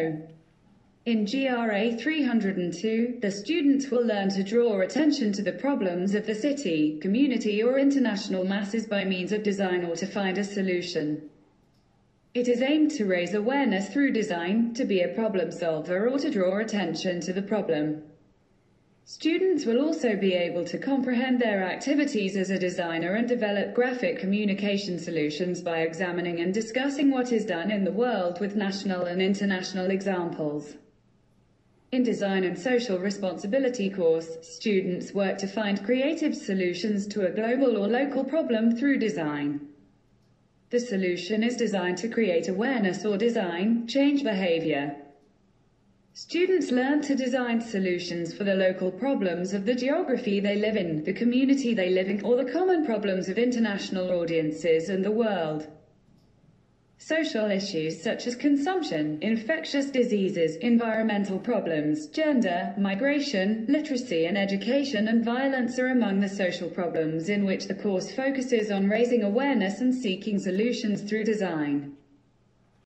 know. In GRA 302, the students will learn to draw attention to the problems of the city, community or international masses by means of design or to find a solution. It is aimed to raise awareness through design, to be a problem solver or to draw attention to the problem. Students will also be able to comprehend their activities as a designer and develop graphic communication solutions by examining and discussing what is done in the world with national and international examples. In Design and Social Responsibility course, students work to find creative solutions to a global or local problem through design. The solution is designed to create awareness or design, change behavior. Students learn to design solutions for the local problems of the geography they live in, the community they live in, or the common problems of international audiences and the world. Social issues such as consumption, infectious diseases, environmental problems, gender, migration, literacy and education and violence are among the social problems in which the course focuses on raising awareness and seeking solutions through design.